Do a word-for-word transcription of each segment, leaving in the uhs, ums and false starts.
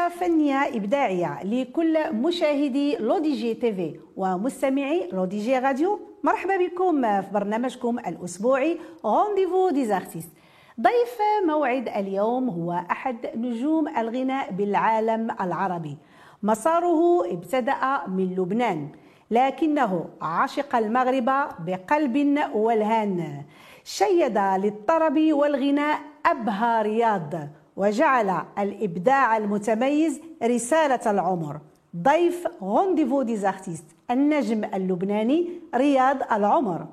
تحية فنية إبداعية لكل مشاهدي لو دي جي تي في ومستمعي لو دي جي راديو. مرحبا بكم في برنامجكم الأسبوعي رونديفو دي زارتيست. ضيف موعد اليوم هو أحد نجوم الغناء بالعالم العربي. مساره ابتدأ من لبنان، لكنه عشق المغرب بقلب والهان. شيد للطرب والغناء أبهى رياض، وجعل الإبداع المتميز رسالة العمر. ضيف رونديفو دي زارتيست النجم اللبناني رياض العمر.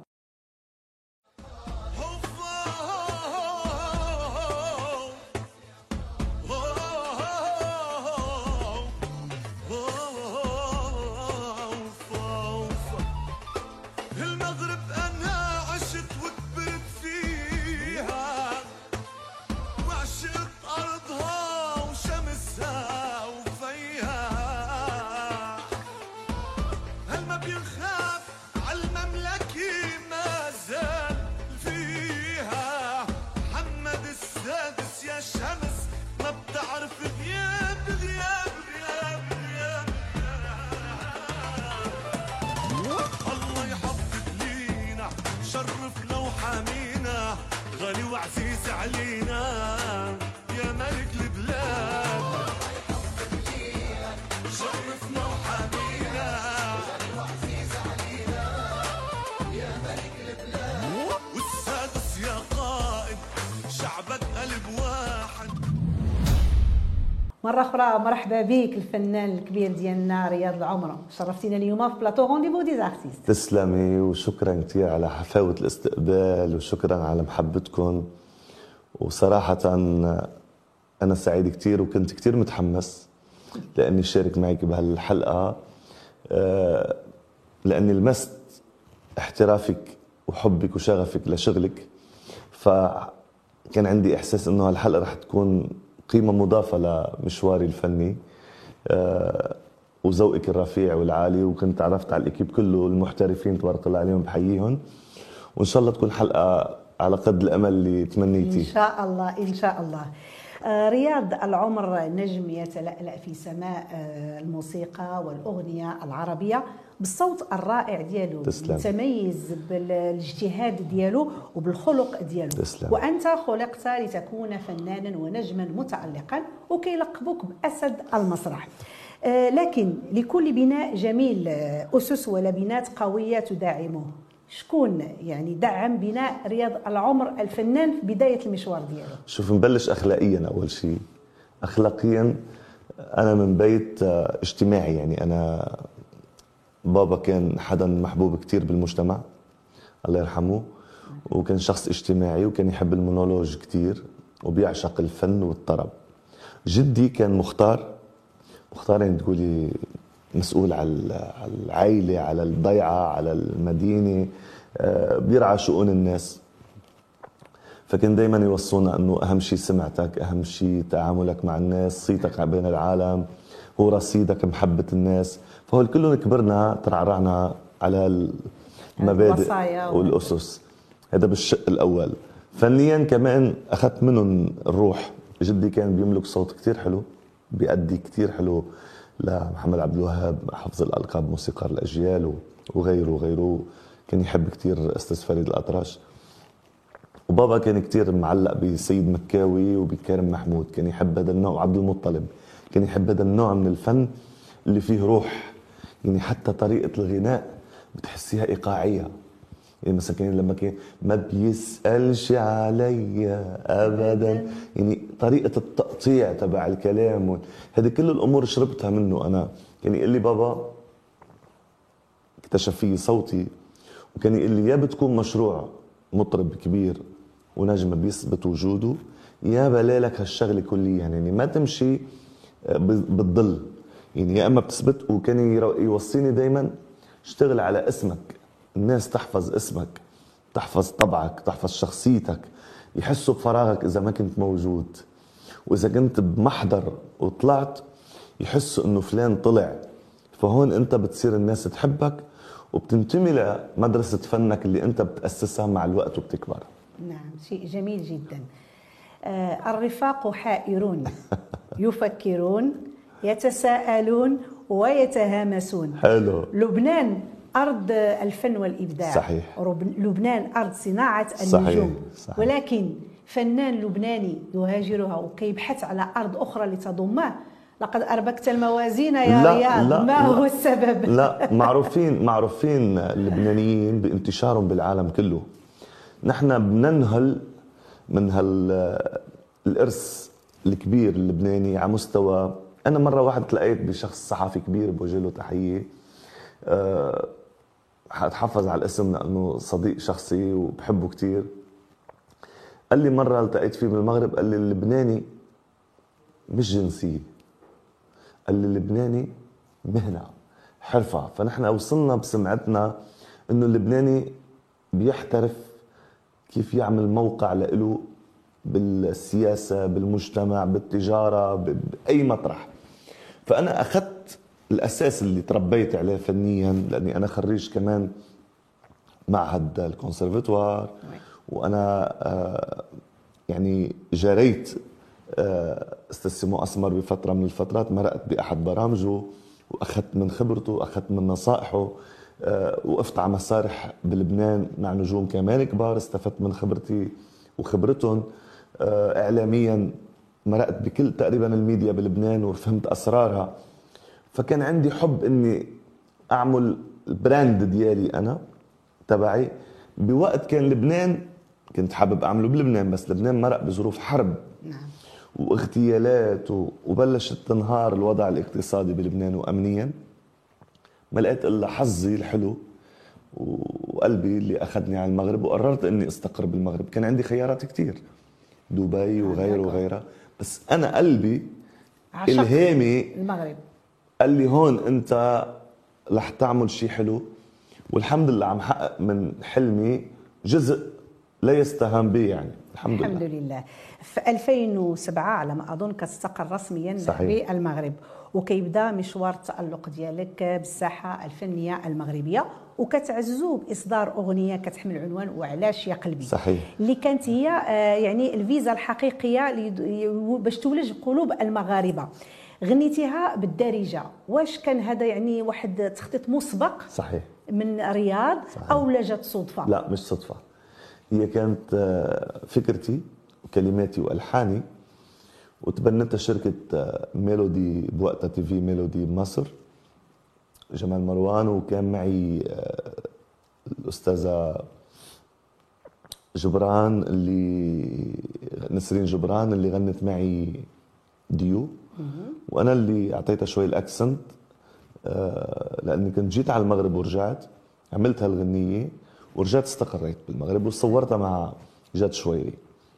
مرة أخرى مرحبا بك الفنان الكبير ديالنا رياض العمر. شرفتينا اليوم في بلاطو رونديفو دي زارتيست. تسلمي وشكرا كثير على حفاوة الاستقبال وشكرا على محبتكم. وصراحة أنا سعيد كثير وكنت كثير متحمس لأني شارك معك بهالحلقة، لأني لمست احترافك وحبك وشغفك لشغلك، فكان عندي إحساس إنه هالحلقة رح تكون قيمة مضافة لمشواري الفني وذوقك الرفيع والعالي. وكنت عرفت على الإكيب كله المحترفين تبارك الله عليهم، بحييهم. وإن شاء الله تكون حلقة على قد الأمل اللي تمنيتيه. إن شاء الله إن شاء الله. رياض العمر نجم يتلألأ في سماء الموسيقى والأغنية العربية بالصوت الرائع ديالو، متميز بالاجتهاد ديالو وبالخلق ديالو. تسلم. وأنت خلقت لتكون فنانا ونجما متألقا، وكيلقبوك بأسد المسرح. لكن لكل بناء جميل أسس ولبنات قوية تدعمه. شكون يعني دعم بناء رياض العمر الفنان في بداية المشوار ديالو؟ شوف، نبلش أخلاقيا. أول شيء أخلاقيا أنا من بيت اجتماعي، يعني أنا بابا كان حدا محبوب كتير بالمجتمع الله يرحمه، وكان شخص اجتماعي وكان يحب المونولوج كتير وبيعشق الفن والطرب. جدي كان مختار مختار يعني تقولي مسؤول على العائلة، على الضيعة، على المدينة، بيرعى شؤون الناس. فكان دايما يوصونا انه اهم شيء سمعتك، اهم شيء تعاملك مع الناس، صيتك بين العالم، هو رصيدك محبة الناس. فهول كلهم كبرنا ترعرعنا على المبادئ والأسس. هذا بالشق الأول. فنيا كمان أخذت منهم الروح. جدي كان بيملك صوت كتير حلو، بيأدي كتير حلو لمحمد عبد الوهاب، حفظ الألقاب، موسيقار الأجيال وغيره وغيره. كان يحب كتير أستاذ فريد الأطرش. وبابا كان كتير معلق بسيد مكاوي وبكارم محمود، كان يحب هذا النوع. عبد المطلب كان يحب هذا النوع من الفن اللي فيه روح، يعني حتى طريقة الغناء بتحسيها إيقاعية. يعني مثلا كان لما كان ما بيسألش علي أبدا، يعني طريقة التقطيع تبع الكلام، هذه كل الأمور شربتها منه أنا. كان يقول لي بابا، اكتشف فيه صوتي، وكان يقول لي يا بتكون مشروع مطرب كبير ونجم بيثبت وجوده، يا بلالك هالشغلة كليا، يعني ما تمشي بالظل، يعني يا اما بتثبت. وكان يوصيني دايما اشتغل على اسمك، الناس تحفظ اسمك، تحفظ طبعك، تحفظ شخصيتك، يحسوا بفراغك اذا ما كنت موجود. واذا كنت بمحضر وطلعت يحسوا انه فلان طلع، فهون انت بتصير الناس تحبك وبتنتمي لمدرسة فنك اللي انت بتأسسها مع الوقت وبتكبر. نعم، شيء جميل جدا. آه الرفاق حائرون يفكرون يتساءلون ويتهامسون. حلو. لبنان أرض الفن والإبداع. صحيح. لبنان أرض صناعة صحيح. النجوم. صحيح. ولكن فنان لبناني يهاجرها وكيبحث على أرض أخرى لتضمه، لقد أربكت الموازين يا لا رياض. لا ما لا هو السبب؟ لا، معروفين معروفين اللبنانيين بانتشارهم بالعالم كله. نحن بننهل من هالإرث الكبير اللبناني على مستوى. أنا مرة واحد تلاقيت بشخص صحفي كبير بوجه له تحية، أه حتحفظ على الاسم لأنه صديق شخصي وبحبه كتير. قال لي مرة التقيت فيه بالمغرب، قال لي اللبناني مش جنسية، قال لي اللبناني مهنة حرفة. فنحن وصلنا بسمعتنا إنه اللبناني بيحترف كيف يعمل موقع لإله بالسياسة، بالمجتمع، بالتجارة، بأي مطرح. فأنا أخذت الأساس اللي تربيت عليه فنيا، لأني أنا خريج كمان معهد الكونسرفتوار، وأنا آه يعني جريت آه استاذ سيمو أسمر بفترة من الفترات، مرقت بأحد برامجه وأخذت من خبرته وأخذت من نصائحه. آه وقفت على مسارح بلبنان مع نجوم كمان كبار، استفدت من خبرتي وخبرتهم. آه إعلاميا مرقت بكل تقريبا الميديا بلبنان وفهمت أسرارها. فكان عندي حب إني أعمل البراند ديالي أنا تبعي بوقت كان لبنان كنت حابب أعمله بلبنان، بس لبنان مرق بظروف حرب. نعم. واغتيالات وبلشت تنهار الوضع الاقتصادي بلبنان وأمنيا. ما لقيت إلا حظي الحلو وقلبي اللي أخذني على المغرب، وقررت إني استقر بالمغرب. كان عندي خيارات كتير، دبي وغيره وغيرها، بس أنا قلبي إلهامي المغرب قال لي هون أنت رح تعمل شيء حلو، والحمد لله عم حقق من حلمي جزء لا يستهان به يعني. الحمد, الحمد لله. لله. في ألفين وسبعة على ما أظن كتستقر رسميا صحيح. بالمغرب، وكيبدا مشوار التألق ديالك بالساحة الفنية المغربية، وكتعززوا بإصدار أغنية كتحمل عنوان وعلاش يا قلبي. صحيح. اللي كانت هي يعني الفيزا الحقيقية باش تولج قلوب المغاربة. غنيتيها بالدارجة، واش كان هذا يعني واحد تخطيط مسبق؟ صحيح. من رياض. صحيح. أو لجت صدفة؟ لا مش صدفة، هي كانت فكرتي وكلماتي وألحاني، وتبنتها شركة ميلودي بوقتها، تي في ميلودي بمصر، جمال مروان، وكان معي الأستاذة جبران اللي نسرين جبران اللي غنت معي ديو، وأنا اللي أعطيتها شوي الأكسنت لأني كنت جيت على المغرب ورجعت عملت هالغنية ورجعت استقريت بالمغرب وصورتها مع جد شويري.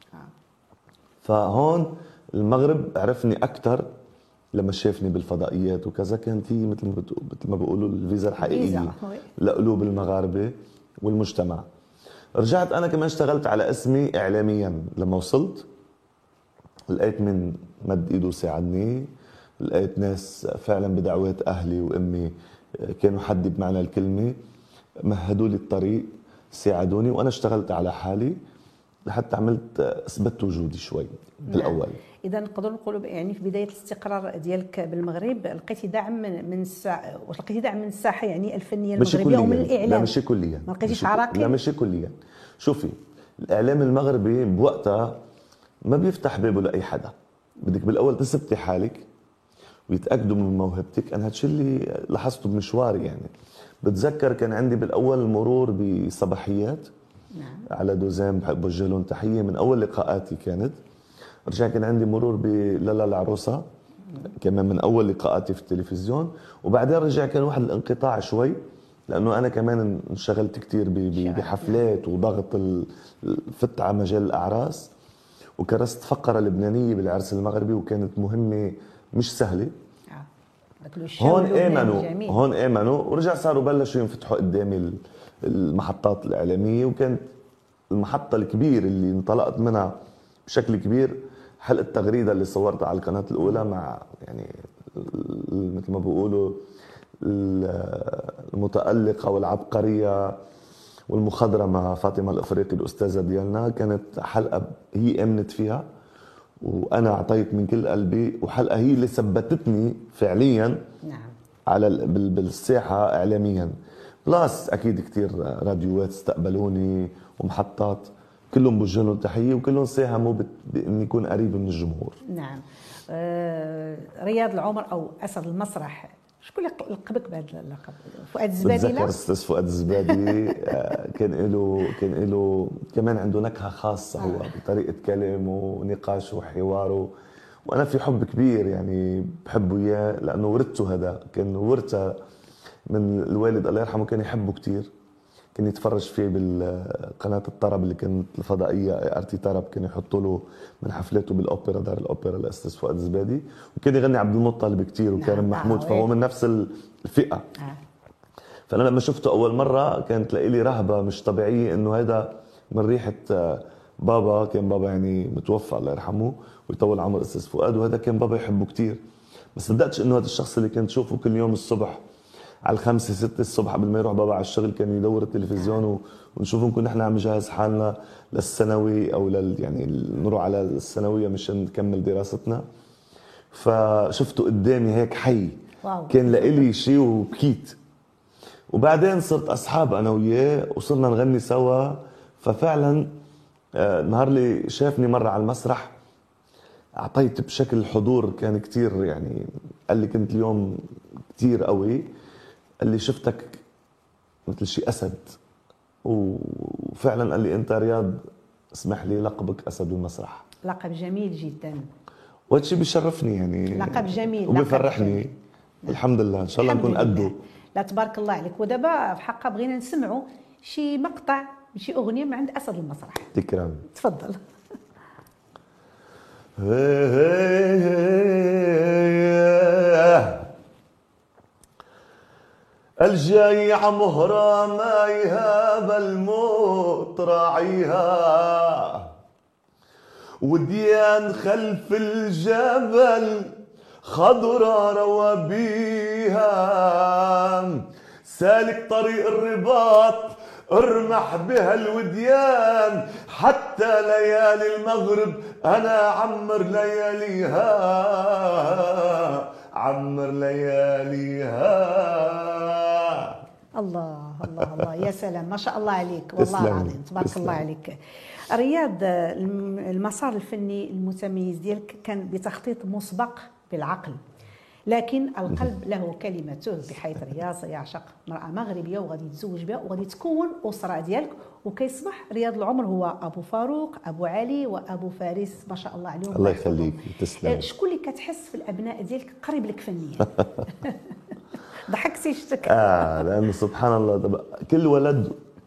فهون المغرب عرفني أكتر لما شافني بالفضائيات وكذا. كانت هي مثل ما مثل ما بيقولوا الفيزا الحقيقية لقلوب المغاربة والمجتمع. رجعت أنا كمان اشتغلت على اسمي إعلاميا. لما وصلت لقيت من مد إيده ساعدني، لقيت ناس فعلا بدعوات أهلي وأمي كانوا حدي بمعنى الكلمة، مهدوا لي الطريق، ساعدوني، وأنا اشتغلت على حالي لحتى عملت اثبت وجودي شوي بالاول. نعم. اذا نقدر نقولوا يعني في بدايه الاستقرار ديالك بالمغرب لقيتي دعم من من الساحه، واش لقيتي دعم من الساحه يعني الفنيه المغربيه ومن الاعلام؟ لا ماشي كليا. ما لقيتيش عراقيل؟ لا ماشي كليا. شوفي الاعلام المغربي بوقتها ما بيفتح بابه لاي حدا، بدك بالاول تثبتي حالك ويتاكدوا من موهبتك. انا هالشيء اللي لاحظته بمشواري يعني. بتذكر كان عندي بالاول مرور بصباحيات. نعم. على دوزام بحب اوجه لهم تحيه من اول لقاءاتي كانت. رجع كان عندي مرور بلالا العروسه كمان من اول لقاءاتي في التلفزيون، وبعدين رجع كان واحد الانقطاع شوي لانه انا كمان انشغلت كثير بحفلات وضغط فت على مجال الاعراس، وكرست فقره لبنانيه بالعرس المغربي وكانت مهمه مش سهله. هون امنوا هون امنوا ورجع صاروا بلشوا ينفتحوا قدامي المحطات الاعلاميه، وكانت المحطه الكبيره اللي انطلقت منها بشكل كبير حلقه تغريده اللي صورتها على القناه الاولى مع يعني مثل ما بيقولوا المتالقه والعبقريه والمخضرمه فاطمه الافريقي الاستاذه ديالنا. كانت حلقه هي امنت فيها وانا اعطيت من كل قلبي، وحلقه هي اللي ثبتتني فعليا نعم على ال- بال- بالساحه اعلاميا. بلاس اكيد كثير راديوات استقبلوني ومحطات، كلهم بوجه لهم تحيه وكلهم ساهموا بت- باني اكون قريب من الجمهور. نعم. آه رياض العمر او اسد المسرح، شكون اللي لقبك بهذا اللقب؟ فؤاد الزبادي؟ بتذكر استاذ فؤاد الزبادي آه، كان له كان له كمان عنده نكهه خاصه هو آه. بطريقه كلامه ونقاشه وحواره، وانا في حب كبير يعني بحبه اياه لانه ورثته، هذا كان ورثه من الوالد الله يرحمه، كان يحبه كثير، كان يتفرج فيه بالقناه الطرب اللي كانت الفضائيه ارتي طرب، كان يحطوا له من حفلاته بالاوبرا دار الاوبرا الاستاذ فؤاد الزبادي، وكان يغني عبد المطلب كثير وكريم نعم. محمود، آه. فهو من نفس الفئه. آه. فانا لما شفته اول مره كانت لي رهبه مش طبيعيه، انه هذا من ريحه بابا، كان بابا يعني متوفى الله يرحمه ويطول عمر استاذ فؤاد، وهذا كان بابا يحبه كثير. ما صدقتش انه هذا الشخص اللي كنت اشوفه كل يوم الصبح على الخمسة ستة الصبح قبل ما يروح بابا على الشغل كان يدور التلفزيون ونشوف نكون نحن عم نجهز حالنا للثانوي او لل يعني نروح على الثانويه مشان نكمل دراستنا. فشفته قدامي هيك حي، واو. كان لإلي شيء وبكيت. وبعدين صرت اصحاب انا وياه وصرنا نغني سوا. ففعلا آه، نهار اللي شافني مره على المسرح اعطيت بشكل حضور كان كتير، يعني قال لي كنت اليوم كتير قوي، قال لي شفتك مثل شي اسد، وفعلا قال لي انت رياض اسمح لي لقبك اسد المسرح. لقب جميل جدا، وهذا الشيء بيشرفني يعني، لقب جميل وبيفرحني. لقب الحمد لله ان شاء الله الحمد نكون قده. لله. لا تبارك الله عليك. ودابا في حقا بغينا نسمعوا شي مقطع من شي اغنيه من عند اسد المسرح. تكرم. تفضل. الجاي مهرة ما يهاب الموت راعيها، وديان خلف الجبل خضرة روابيها، سالك طريق الرباط ارمح بها الوديان، حتى ليالي المغرب انا عمر لياليها، عمر لياليها. الله الله الله، يا سلام، ما شاء الله عليك، والله تسلم. العظيم تبارك تسلم. الله عليك. رياض، المسار الفني المتميز ديالك كان بتخطيط مسبق بالعقل، لكن القلب له كلمته، بحيث رياض يعشق امرأة مغربية وغادي يتزوج بها وغادي تكون أسرة ديالك، وكيصبح رياض العمر هو أبو فاروق، أبو علي، وأبو فارس، ما شاء الله عليهم. الله يخليك. تسلم. شكون اللي كتحس في الأبناء ديالك قريب لك فنيا؟ ضحكتي شتك. اه لانه سبحان الله طب كل ولد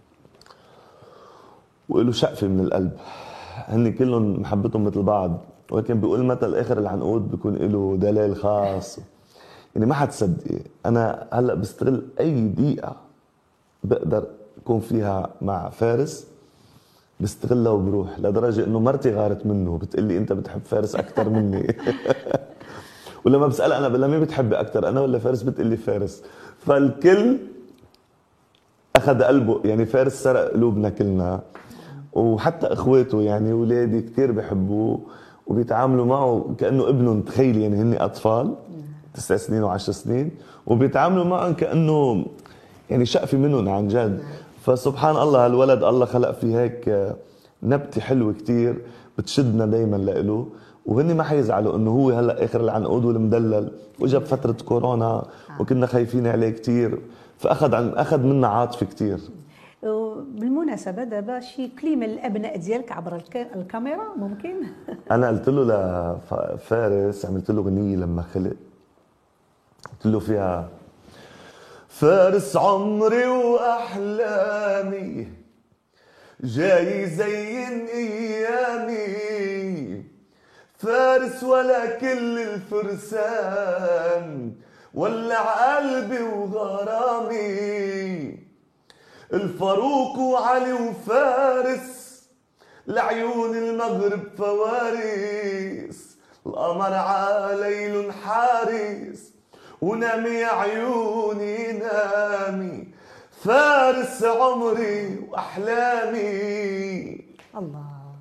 وله شقفه من القلب، هن كلهم محبتهم مثل بعض، ولكن بيقول مثل اخر العنقود بيكون له دلال خاص. يعني ما حتصدقي انا هلا بستغل اي دقيقه بقدر اكون فيها مع فارس، بستغلها وبروح، لدرجه انه مرتي غارت منه بتقلي انت بتحب فارس اكثر مني. ولما بسألها انا بقول مين بتحبي اكثر انا ولا فارس، بتقلي فارس. فالكل اخذ قلبه، يعني فارس سرق قلوبنا كلنا، وحتى اخواته يعني اولادي كثير بحبوه وبيتعاملوا معه كانه ابنهم. تخيلي يعني هن اطفال تسع سنين وعشر سنين وبيتعاملوا معهم كانه يعني شقفه منهم عن جد. فسبحان الله هالولد الله خلق فيه هيك نبته حلوه كثير بتشدنا دائما لإله، وهن ما حيزعلوا انه هو هلا اخر العنقود والمدلل، واجا بفتره كورونا وكنا خايفين عليه كثير، فاخذ عن اخذ منا عاطفه كثير. بالمناسبه دابا شي كلمه للابناء ديالك عبر الكاميرا ممكن؟ انا قلت له لفارس، عملت له اغنيه لما خلق، قلت له فيها فارس عمري واحلامي جاي يزين ايامي، فارس ولا كل الفرسان ولع قلبي وغرامي، الفاروق وعلي وفارس لعيون المغرب فوارس، القمر عليل حارس ونامي يا عيوني نامي، فارس عمري واحلامي. الله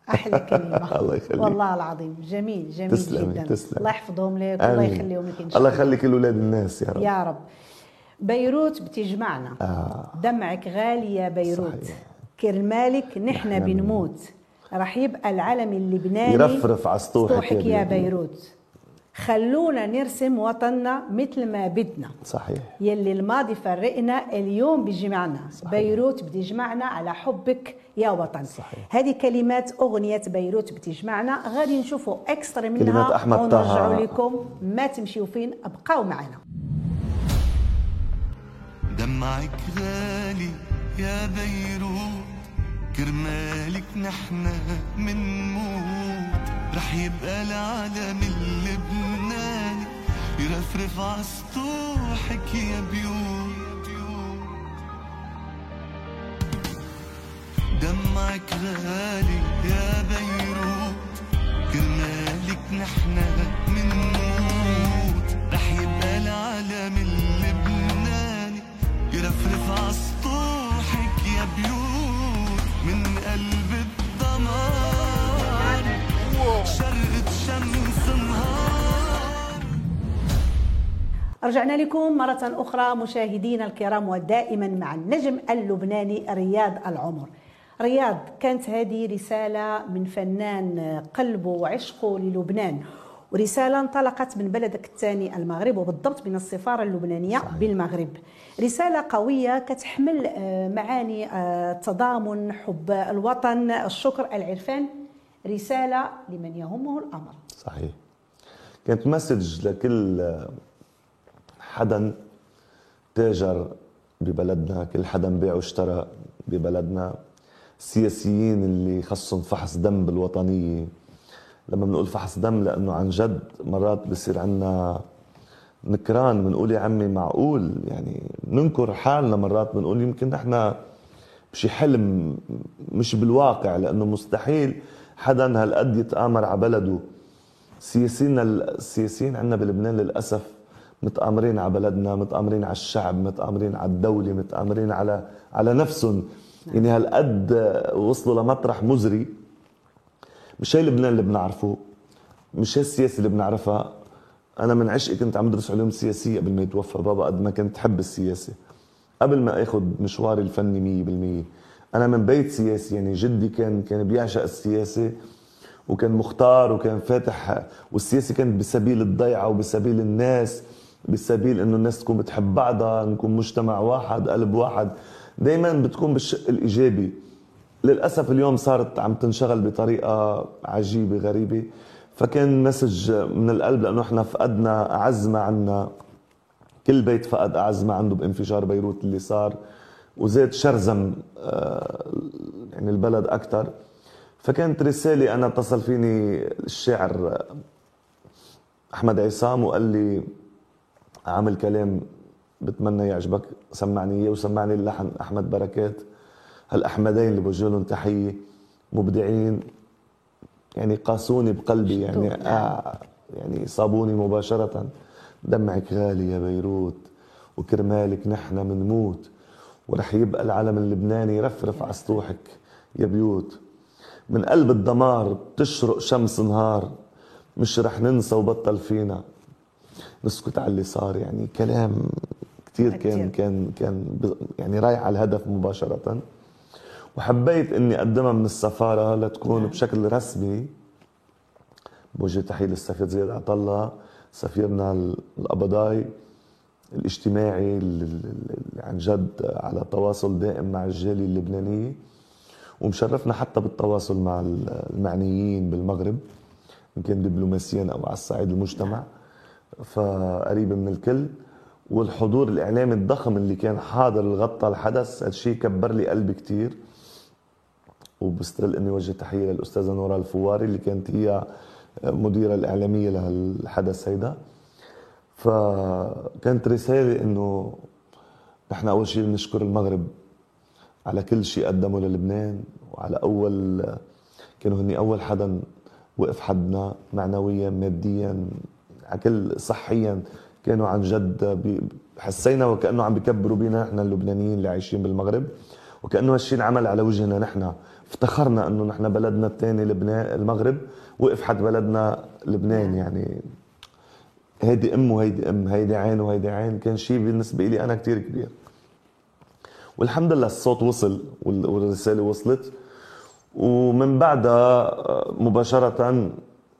احلى كلمه. الله يخليك. والله العظيم جميل جميل تسلمي جدا. تسلمي. الله يحفظهم لك والله يخليهم لك ان شاء الله الله. يخلي كل اولاد الناس يا رب يا رب. بيروت بتجمعنا. آه. دمعك غالي يا بيروت. صحيح. كرمالك نحن بنموت. راح يبقى العلم اللبناني يرفرف على سطوحك, سطوحك يا بيروت. خلونا نرسم وطننا مثل ما بدنا. صحيح. يلي الماضي فرقنا اليوم بيجمعنا. صحيح. بيروت بتجمعنا على حبك يا وطن. صحيح. هذه كلمات أغنية بيروت بتجمعنا. غادي نشوفوا اكسترا منها كلمات أحمد ونرجعوا طه. لكم. ما تمشيوا فين، ابقاو معنا. دمعك غالي يا بيروت، كرمالك نحنا منموت. رح يبقى العالم اللبناني يرفرف عسطوحك يا بيوت. دمعك غالي يا بيروت، كرمالك نحنا منموت. رح يبقى العالم اللبناني يرفرف عسطوحك يا بيوت. من قلب الدمار شرقت شمس نهار. رجعنا لكم مرة أخرى مشاهدينا الكرام، ودائما مع النجم اللبناني رياض العمر. رياض، كانت هذه رسالة من فنان قلبه وعشقه للبنان، ورسالة انطلقت من بلدك الثاني المغرب، وبالضبط من السفارة اللبنانية صحيح. بالمغرب. رسالة قوية كتحمل معاني التضامن، حب الوطن، الشكر، العرفان. رسالة لمن يهمه الأمر. صحيح. كانت مسج لكل حدا تاجر ببلدنا، كل حدا بيع واشترى ببلدنا، السياسيين اللي خصهم فحص دم بالوطنية. لما بنقول فحص دم لأنه عن جد مرات بصير عنا نكران، بنقول يا عمي معقول، يعني ننكر حالنا مرات، بنقول يمكن نحن بشي حلم مش بالواقع، لأنه مستحيل حدا هالقد يتآمر على بلده. سياسيين السياسيين عندنا بلبنان للأسف متآمرين على بلدنا، متآمرين على الشعب، متآمرين على الدولة، متآمرين على على نفسهم. يعني هالقد وصلوا لمطرح مزري. مش هي لبنان اللي بنعرفه، مش هي السياسة اللي بنعرفها. أنا من عشقي كنت عم بدرس علوم سياسية قبل ما يتوفى بابا، قد ما كنت حب السياسة قبل ما اخذ مشواري الفني مية بالمية. أنا من بيت سياسي، يعني جدي كان كان بيعشق السياسة وكان مختار وكان فاتح، والسياسة كانت بسبيل الضيعة وبسبيل الناس، بسبيل إنه الناس تكون بتحب بعضها، نكون مجتمع واحد، قلب واحد، دايما بتكون بالشق الإيجابي. للأسف اليوم صارت عم تنشغل بطريقة عجيبة غريبة. فكان مسج من القلب، لأنه احنا فقدنا أعز ما عنا، كل بيت فقد أعز ما عنده بانفجار بيروت اللي صار، وزاد شرزم يعني البلد أكتر. فكانت رسالة، أنا اتصل فيني الشاعر أحمد عصام وقال لي عامل كلام بتمنى يعجبك، سمعني إياه، وسمعني اللحن أحمد بركات. هالأحمدين اللي بوجه لهم تحية، مبدعين، يعني قاسوني بقلبي، يعني آه يعني صابوني مباشرة. دمعك غالي يا بيروت، وكرمالك نحن منموت، ورح يبقى العلم اللبناني يرفرف على سطوحك يا بيوت. من قلب الدمار بتشرق شمس نهار، مش رح ننسى وبطل فينا نسكت على اللي صار. يعني كلام كتير كان كان كان يعني رايح على الهدف مباشرة. وحبيت اني اقدمها من السفارة لتكون بشكل رسمي. بوجه تحية للسفير زياد عطلة، سفيرنا القبضاي الاجتماعي اللي عن جد على تواصل دائم مع الجالية اللبنانية، ومشرفنا حتى بالتواصل مع المعنيين بالمغرب، إن كان دبلوماسيا أو على الصعيد المجتمع، فقريب من الكل. والحضور الإعلامي الضخم اللي كان حاضر الغطى الحدث، هالشيء كبر لي قلبي كتير. وبستغل إني وجه تحية للأستاذة نورا الفواري اللي كانت هي مديرة الإعلامية لهالحدث هيدا. فكانت رسالة إنه نحن أول شيء بنشكر المغرب على كل شيء قدمه للبنان، وعلى أول كانوا هني أول حدا وقف حدنا معنويا ماديا على كل صحيا. كانوا عن جد حسينا وكأنه عم بيكبروا بينا نحن اللبنانيين اللي عايشين بالمغرب، وكأنه هالشيء انعمل على وجهنا نحن. افتخرنا انه نحن بلدنا الثاني لبنان المغرب وقف حد بلدنا لبنان. يعني هيدي ام وهيدي ام، هيدي عين وهيدي عين، كان شيء بالنسبه لي انا كتير كبير. والحمد لله الصوت وصل والرساله وصلت، ومن بعدها مباشره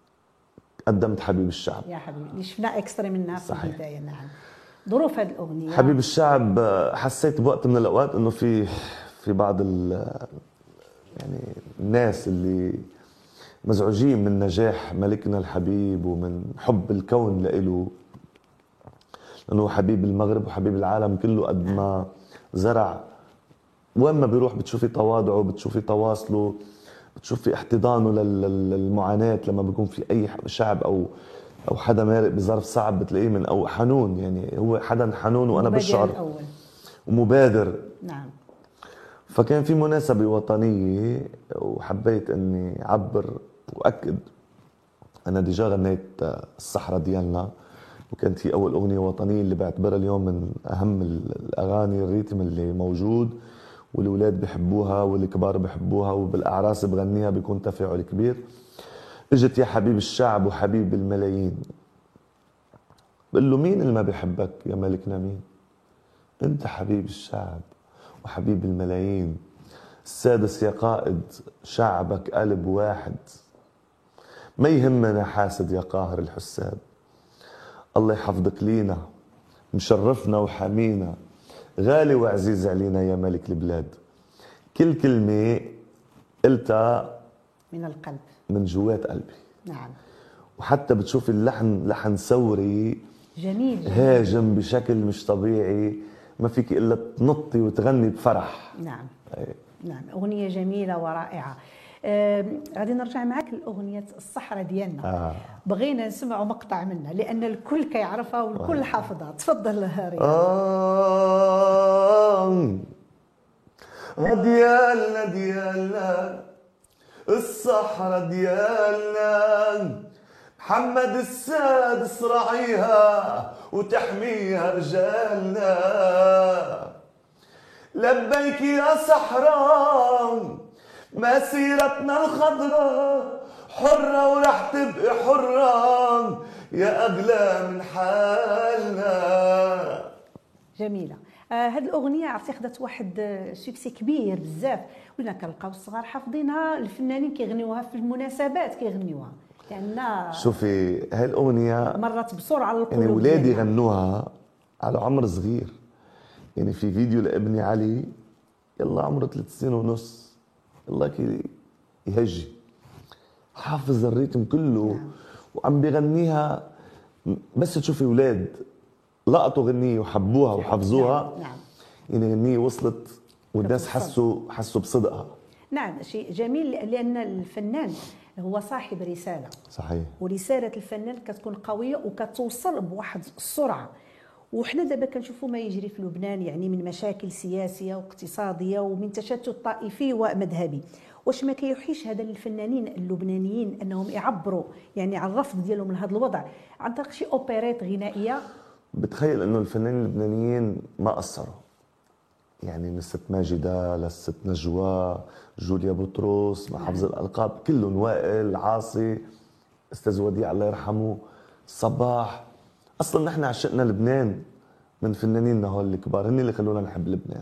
قدمت حبيب الشعب. يا حبيبي اللي شفنا اكسترا منها في صحيح. البدايه. نعم. ظروف هذه الاغنيه حبيب الشعب حسيت بوقت من الاوقات انه في في بعض ال يعني الناس اللي مزعوجين من نجاح ملكنا الحبيب ومن حب الكون لإله، لانه حبيب المغرب وحبيب العالم كله. قد ما زرع وين ما بيروح بتشوفي تواضعه، بتشوفي تواصله، بتشوفي احتضانه لل- للمعاناة. لما بيكون في اي شعب او او حدا مارق بظرف صعب بتلاقيه من او حنون. يعني هو حدا حنون وانا المبادر بشعر الاول. ومبادر. نعم. فكان في مناسبة وطنية وحبيت اني اعبر واكد. انا ديجا غنيت الصحراء ديالنا، وكانت هي اول اغنية وطنية اللي بعتبرها اليوم من اهم الاغاني، الريتم اللي موجود والولاد بحبوها والكبار بحبوها، وبالاعراس بغنيها بيكون تفاعل كبير. اجت يا حبيب الشعب وحبيب الملايين، بقول له مين اللي ما بيحبك يا ملكنا؟ مين انت؟ حبيب الشعب وحبيب الملايين، السادس يا قائد شعبك قلب واحد، ما يهمنا حاسد يا قاهر الحساد، الله يحفظك لينا مشرفنا وحمينا، غالي وعزيز علينا يا ملك البلاد. كل كلمة قلتها من القلب. من جوات قلبي. نعم. وحتى بتشوف اللحن لحن ثوري جميل, جميل. هاجم بشكل مش طبيعي، ما فيك الا تنطي وتغني بفرح. نعم. أي. نعم أغنية جميلة ورائعة. آه، غادي نرجع معك لأغنية الصحراء ديالنا. آه. بغينا نسمعوا مقطع منها لأن الكل كيعرفها والكل حافظها. تفضل رياض. آه ديالنا ديالنا الصحراء ديالنا، محمد السادس راعيها وتحميها رجالنا، لبيك يا صحراء مسيرتنا الخضراء، حرة ورح تبقي حرة يا أغلى من حالنا. جميلة. آه هذه الأغنية عرفتي خدت واحد آه سوكسي كبير بزاف، ولينا كنلقاو الصغار حافظينها، الفنانين كيغنيوها في المناسبات كيغنيوها، لأن شوفي هاي الأغنية مرت بسرعة على القلوب. يعني ولادي ديالنا. غنوها على عمر صغير. يعني في فيديو لابني علي يلا عمره ثلاث سنين ونص، يلا كي يهجي حافظ الريتم كله. نعم. وعم بيغنيها، بس تشوفي اولاد لقطوا غنية وحبوها وحفظوها. نعم. نعم. يعني غنية وصلت والناس كتوصل. حسوا حسوا بصدقها. نعم شيء جميل لأن الفنان هو صاحب رسالة. صحيح. ورسالة الفنان كتكون قوية وكتوصل بواحد السرعة. وحنا دابا كنشوفوا ما يجري في لبنان يعني من مشاكل سياسية واقتصادية ومن تشتت طائفي ومذهبي. واش ما كيوحيش هذا للفنانين اللبنانيين انهم يعبروا يعني عن الرفض ديالهم لهذا الوضع عن طريق شي اوبريت غنائيه؟ بتخيل انه الفنانين اللبنانيين ما قصروا. يعني من الست ماجدة للست نجوى، جوليا بطرس، مع حفظ الالقاب كلهم، وائل عاصي، استاذ وديع الله يرحمه، صباح. اصلا نحن عشقنا لبنان من فنانيننا هول الكبار، هن اللي خلونا نحب لبنان.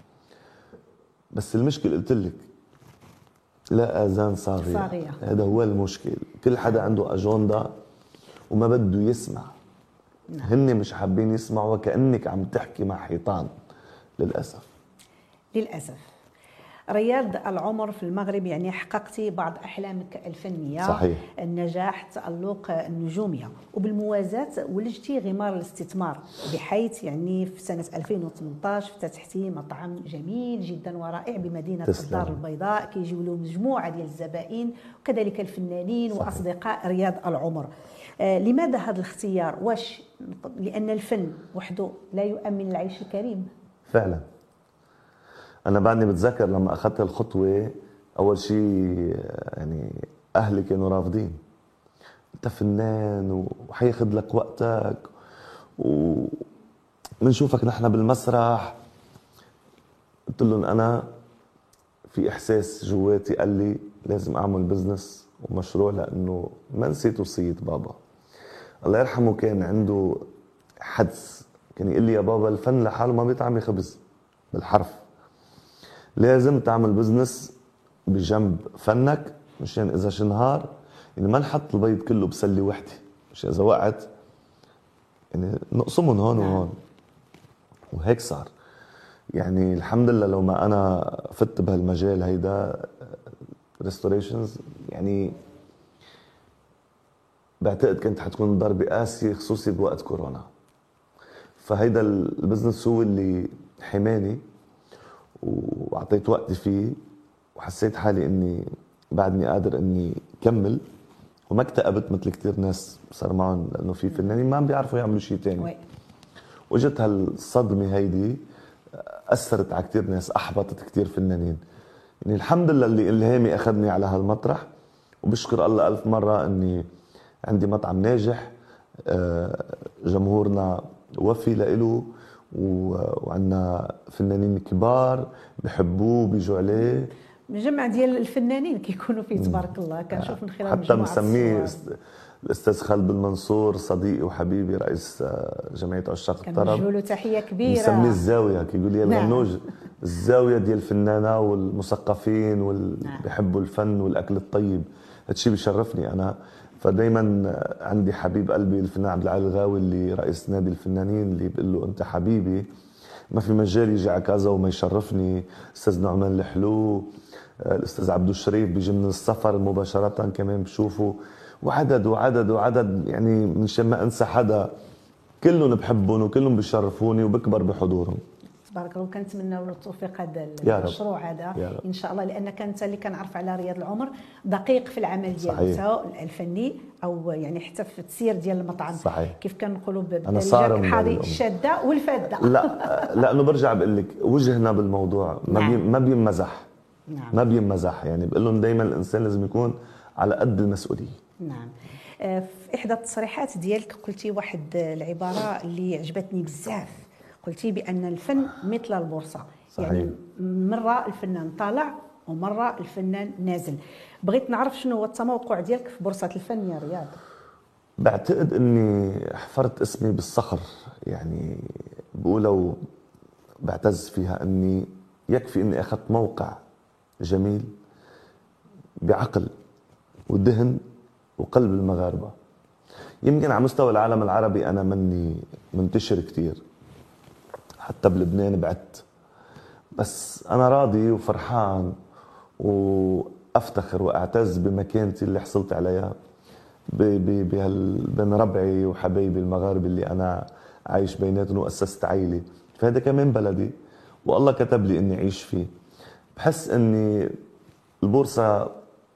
بس المشكله قلت لك لا اذان صاغيه. صاغية. هذا هو المشكل. كل حدا عنده اجنده وما بده يسمع. هن مش حابين يسمعوا، وكأنك عم تحكي مع حيطان للأسف. للأسف. رياض العمر في المغرب يعني حققتي بعض أحلامك الفنية. صحيح. النجاح، التألق، النجومية، وبالموازاة ولجتي غمار الاستثمار، بحيث يعني في سنة ألفين وثمانطاش افتتحتي مطعم جميل جدا ورائع بمدينة تسلم. الدار البيضاء كيجيو له مجموعة ديال الزبائن وكذلك الفنانين. صحيح. وأصدقاء رياض العمر. آه لماذا هذا الاختيار؟ واش لأن الفن وحده لا يؤمن العيش الكريم؟ فعلا. أنا بعدني بتذكر لما أخذت الخطوة، أول شيء يعني أهلي كانوا رافضين. أنت فنان وحياخد لك وقتك وبنشوفك نحن بالمسرح. قلت لهم أنا في احساس جواتي قال لي لازم اعمل بزنس ومشروع، لانه ما نسيت وصيه بابا الله يرحمه. كان عنده حدس، كان يقول لي يا بابا الفن لحاله ما بيطعمي خبز، بالحرف لازم تعمل بزنس بجنب فنك، مشان اذا شنهار يعني ما نحط البيض كله بسله وحده، مش اذا وقعت يعني نقسمهم هون وهون. وهيك صار. يعني الحمد لله لو ما انا فت بهالمجال هيدا ريستوريشنز، يعني بعتقد كانت حتكون ضربة قاسية خصوصي بوقت كورونا. فهيدا البزنس هو اللي حماني واعطيت وقتي فيه، وحسيت حالي اني بعدني قادر اني كمل، وما اكتئبت مثل كتير ناس صار معهم، لانه في فنانين ما عم بيعرفوا يعملوا شيء تاني. واجت هالصدمة هيدي اثرت على كتير ناس، احبطت كتير فنانين. يعني الحمد لله اللي الهامي اخذني على هالمطرح، وبشكر الله الف مرة اني عندي مطعم ناجح، جمهورنا وفي لإله، وعندنا فنانين كبار بحبوه بيجوا عليه. مجمع ديال الفنانين كيكونوا فيه تبارك الله، كنشوف من خلال حتى مسميه الاستاذ خالد المنصور صديقي وحبيبي رئيس جمعيه عشاق الطرب، كنوجه له تحيه كبيره. مسميه الزاويه، كيقول لي الغنوج نعم. الزاويه ديال الفنانه والمثقفين واللي نعم. بيحبوا الفن والاكل الطيب. هادشي بيشرفني انا. فدايما عندي حبيب قلبي الفنان عبد العال الغاوي اللي رئيس نادي الفنانين، اللي بيقول له انت حبيبي، ما في مجال يجي على كذا وما يشرفني. استاذ نعمان الحلو، الاستاذ عبدو الشريف بيجي من السفر مباشره كمان بشوفه، وعدد وعدد وعدد، يعني منشان ما انسى حدا، كلهم بحبهم وكلهم بيشرفوني وبكبر بحضورهم. تبارك الله. وكنتمنى له التوفيق هذا المشروع هذا ان شاء الله، لانك انت اللي كنعرف على رياض العمر دقيق في العمل ديالو، سواء الفني او يعني حتى في التسيير ديال المطعم. صحيح. كيف كنقولوا بالدارجه حاضي الشاده والفاده. لا لانه برجع بقول لك وجهنا بالموضوع ما نعم. بي ما بيمزح نعم. ما بيمزح، يعني بقول لهم دائما الانسان لازم يكون على قد المسؤوليه. نعم. في احدى التصريحات ديالك قلتي واحد العباره اللي عجبتني بزاف، قلتي بان الفن مثل البورصه. صحيح. يعني مره الفنان طالع ومره الفنان نازل. بغيت نعرف شنو هو التموقع ديالك في بورصه الفن يا رياض. بعتقد اني حفرت اسمي بالصخر، يعني بقولوا بعتز فيها اني يكفي اني اخذت موقع جميل بعقل ودهن وقلب المغاربه. يمكن على مستوى العالم العربي انا مني منتشر كتير، حتى بلبنان بعدت، بس انا راضي وفرحان وافتخر واعتز بمكانتي اللي حصلت عليها بين ربعي وحبايبي المغاربه اللي انا عايش بيناتهم واسست عائله. فهذا كمان بلدي والله كتب لي اني اعيش فيه. بحس اني البورصه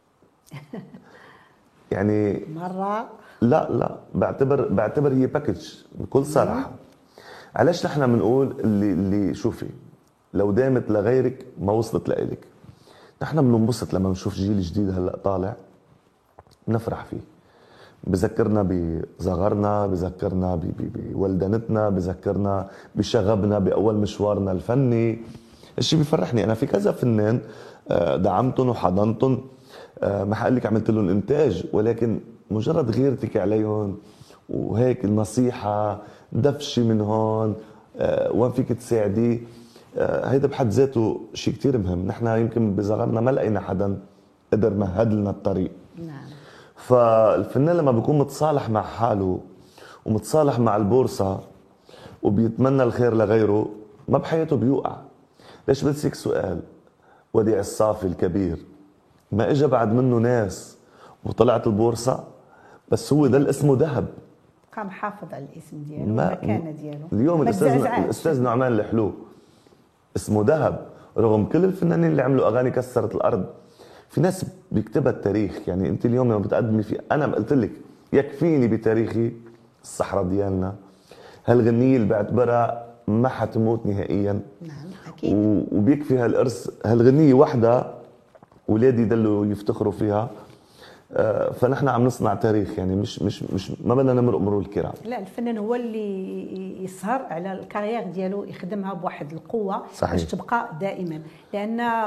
يعني مره لا لا بعتبر بعتبر هي باكج بكل صراحه. علاش نحن بنقول اللي اللي شوفي لو دامت لغيرك ما وصلت لإلك. نحن بننبسط لما بنشوف جيل جديد هلا طالع، بنفرح فيه، بذكرنا بصغرنا، بذكرنا بولدنتنا، بذكرنا بشغبنا باول مشوارنا الفني. الشيء بيفرحني. انا في كذا فنان دعمتهم وحضنتهم، ما حقول لك عملت لهم انتاج، ولكن مجرد غيرتك عليهم وهيك النصيحه، دفشي من هون، وين فيك تساعدي، هيدا بحد ذاته شيء كتير مهم. نحن يمكن بصغرنا ما لقينا حدا قدر مهد لنا الطريق. نعم. فالفنان لما بيكون متصالح مع حاله ومتصالح مع البورصه وبيتمنى الخير لغيره، ما بحياته بيوقع. ليش بدسك سؤال؟ وديع الصافي الكبير ما اجى بعد منه ناس وطلعت البورصه، بس هو ده اسمه ذهب، قام حافظ على الاسم ديالو والمكانه ديالو. اليوم الاستاذ الاستاذ نعمان الحلو اسمه ذهب، رغم كل الفنانين اللي عملوا اغاني كسرت الارض. في ناس بيكتبها التاريخ. يعني انت اليوم لما بتقدمي في، انا قلت لك يكفيني بتاريخي الصحراء ديالنا، هالغنيه اللي بعتبرها ما حتموت نهائيا. نعم اكيد. وبيكفي هالارث، هالغنيه وحده اولادي يضلوا يفتخروا فيها. فنحن عم نصنع تاريخ، يعني مش مش مش ما بدنا نمرق مرور الكرام. لا، الفنان هو اللي يسهر على الكارير ديالو، يخدمها بواحد القوه صحيح. باش تبقى دائما. لان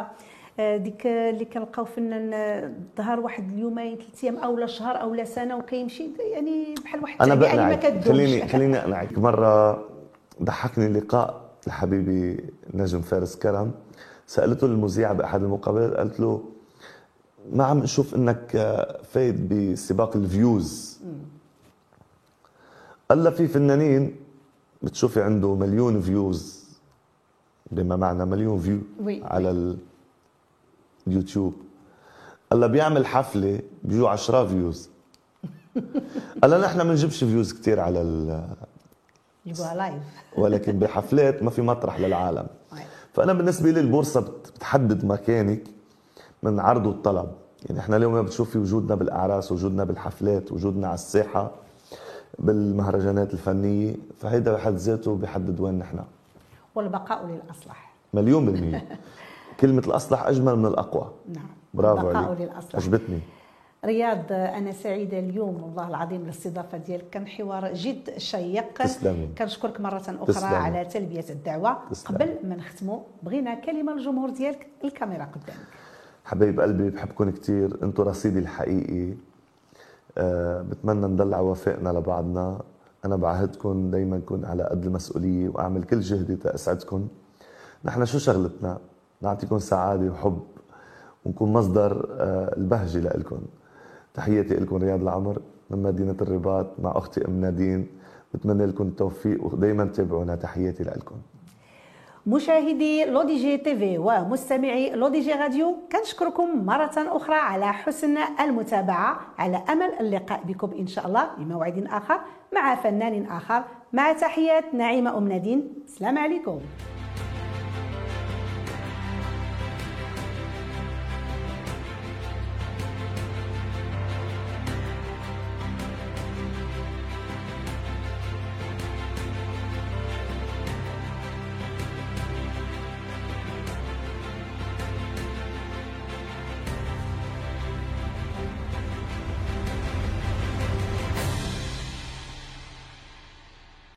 آه، ديك اللي كنلقاو فنان آه، ظهر واحد اليومين ثلاث ايام او لا شهر او لا سنه وكيمشي يعني بحال واحد انا التعبئه اللي ما بقنعك، كتدومش. خليني خليني اقنعك. مره ضحكني لقاء لحبيبي نجم فارس كرم، سالته المذيعه باحد المقابلات، قالت له ما عم نشوف انك فايت بسباق الفيوز. قال لها في فنانين بتشوفي عنده مليون فيوز، بما معنى مليون فيو وي. على اليوتيوب. قال لها بيعمل حفله بيجوا عشرة فيوز. قال لها نحن ما بنجيبش فيوز كثير على ال يبغى لايف. ولكن بحفلات ما في مطرح للعالم. فانا بالنسبه لي البورصه بتحدد مكانك من عرض والطلب. يعني احنا اليوم بتشوفي وجودنا بالاعراس، وجودنا بالحفلات، وجودنا على الساحه بالمهرجانات الفنيه، فهيدا بحد ذاته بيحدد وين نحن. والبقاء للاصلح. مليون بالمية. كلمه الاصلح اجمل من الاقوى. نعم. برافو البقاء عليك، للاصلح. عجبتني. رياض، أنا سعيدة اليوم والله العظيم بالاستضافة ديالك، كان حوار جد شيق. تسلمي. كنشكرك مرة أخرى تسلمي. على تلبية الدعوة. تسلمي. قبل ما نختموا بغينا كلمة للجمهور ديالك، الكاميرا قدامك. حبايب قلبي بحبكم كتير، انتم رصيدي الحقيقي. أه بتمنى ندلع وفائنا لبعضنا. انا بعهدكم دايما كون على قد المسؤولية واعمل كل جهدي تأسعدكم. نحن شو شغلتنا؟ نعطيكم سعادة وحب ونكون مصدر أه البهجة لإلكم. تحياتي لكم، رياض العمر من مدينة الرباط مع أختي أم نادين. بتمنى لكم التوفيق ودايما تابعونا. تحياتي لكم. مشاهدي لو دي جي تي في ومستمعي لو دي جي راديو، كنشكركم مرة أخرى على حسن المتابعة، على أمل اللقاء بكم إن شاء الله بموعد آخر مع فنان آخر. مع تحيات نعيمة أم نادين، السلام عليكم.